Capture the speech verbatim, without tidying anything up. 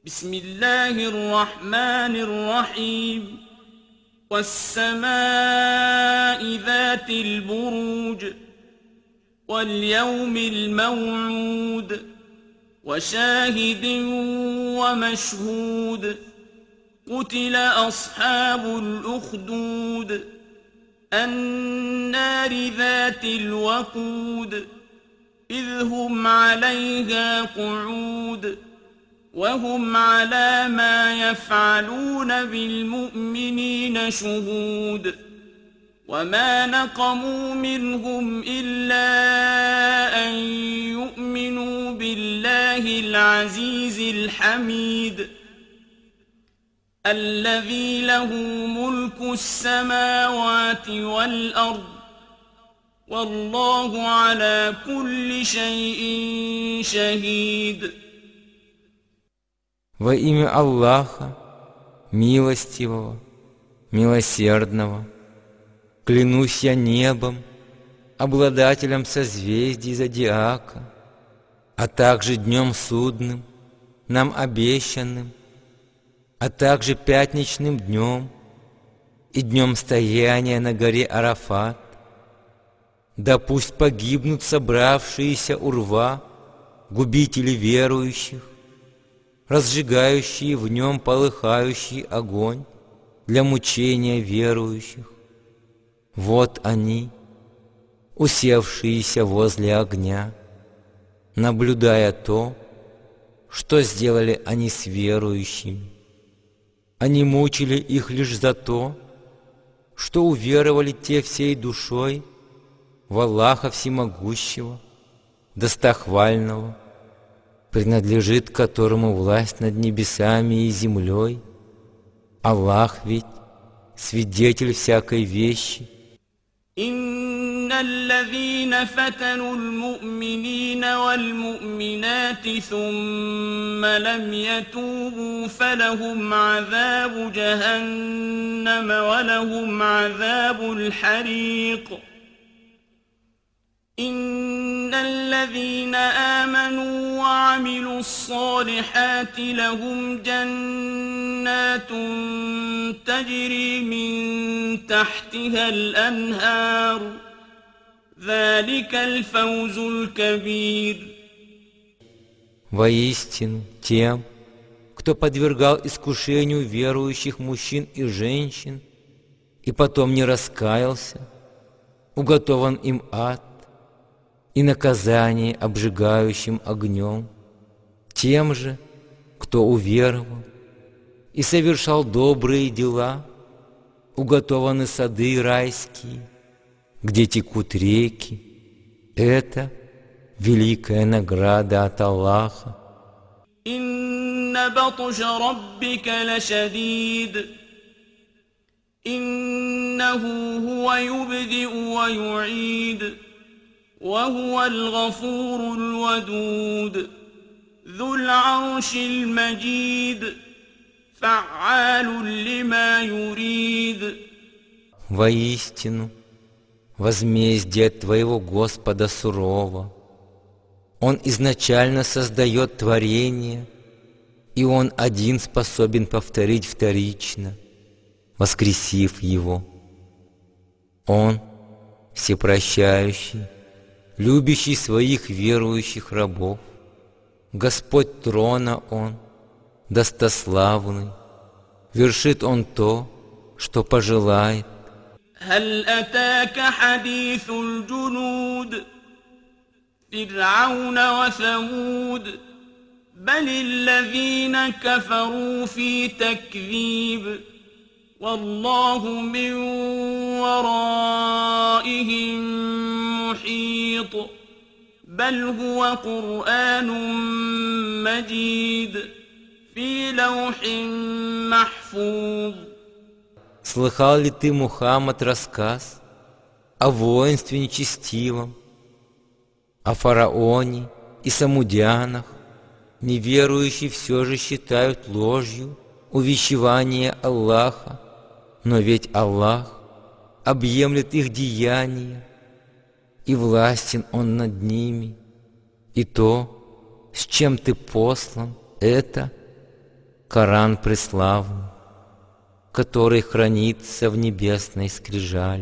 بسم الله الرحمن الرحيم والسماء ذات البروج واليوم الموعود وشاهد ومشهود قتل أصحاب الأخدود النار ذات الوقود إذ هم عليها قعود وهم على ما يفعلون بالمؤمنين شهود وما نقموا منهم إلا أن يؤمنوا بالله العزيز الحميد الذي له ملك السماوات والأرض والله على كل شيء شهيد. Во имя Аллаха, милостивого, милосердного, клянусь я небом, обладателем созвездий зодиака, а также днем судным, нам обещанным, а также пятничным днем и днем стояния на горе Арафат. Да пусть погибнут собравшиеся у рва губители верующих, разжигающие в нем полыхающий огонь для мучения верующих. Вот они, усевшиеся возле огня, наблюдая то, что сделали они с верующими. Они мучили их лишь за то, что уверовали те всей душой в Аллаха Всемогущего, Достохвального, принадлежит которому власть над небесами и землей. Аллах ведь свидетель всякой вещи. إن الذين فتنوا المؤمنين والمؤمنات ثم لم يتوبوا فلهم عذاب جهنم ولهم عذاب الحريق إن الذين آمنوا وعملوا الصالحات لهم جنات تجري من تحتها الأنهار ذلك الفوز الكبير. Воистину, тем, кто подвергал искушению верующих мужчин и женщин и потом не раскаялся, уготован им ад и наказание обжигающим огнем. Тем же, кто уверовал и совершал добрые дела, уготованы сады райские, где текут реки. Это великая награда от Аллаха. إن بطش ربك لشديد إنه هو يبدئ ويعيد وهو الغفور الودود ذو العرش المجيد فعال لما يريد. Воистину, возмездие твоего Господа сурово. Он изначально создает творение, и Он один способен повторить вторично, воскресив его. Он всепрощающий, любящий своих верующих рабов. Господь трона Он, достославный, вершит Он то, что пожелает. هل أتاك حديث الجنود فرعون وثمود بل الذين كفروا في تكذيب والله من ورائهم محيط بل هو قرآن مجيد في لوح محفوظ. Слыхал ли ты, Мухаммад, рассказ о воинстве нечестивом, о фараоне и самудянах? Неверующие все же считают ложью увещевание Аллаха, но ведь Аллах объемлет их деяния, и властен Он над ними, и то, с чем ты послан, это Коран преславный, который хранится в небесной скрижали.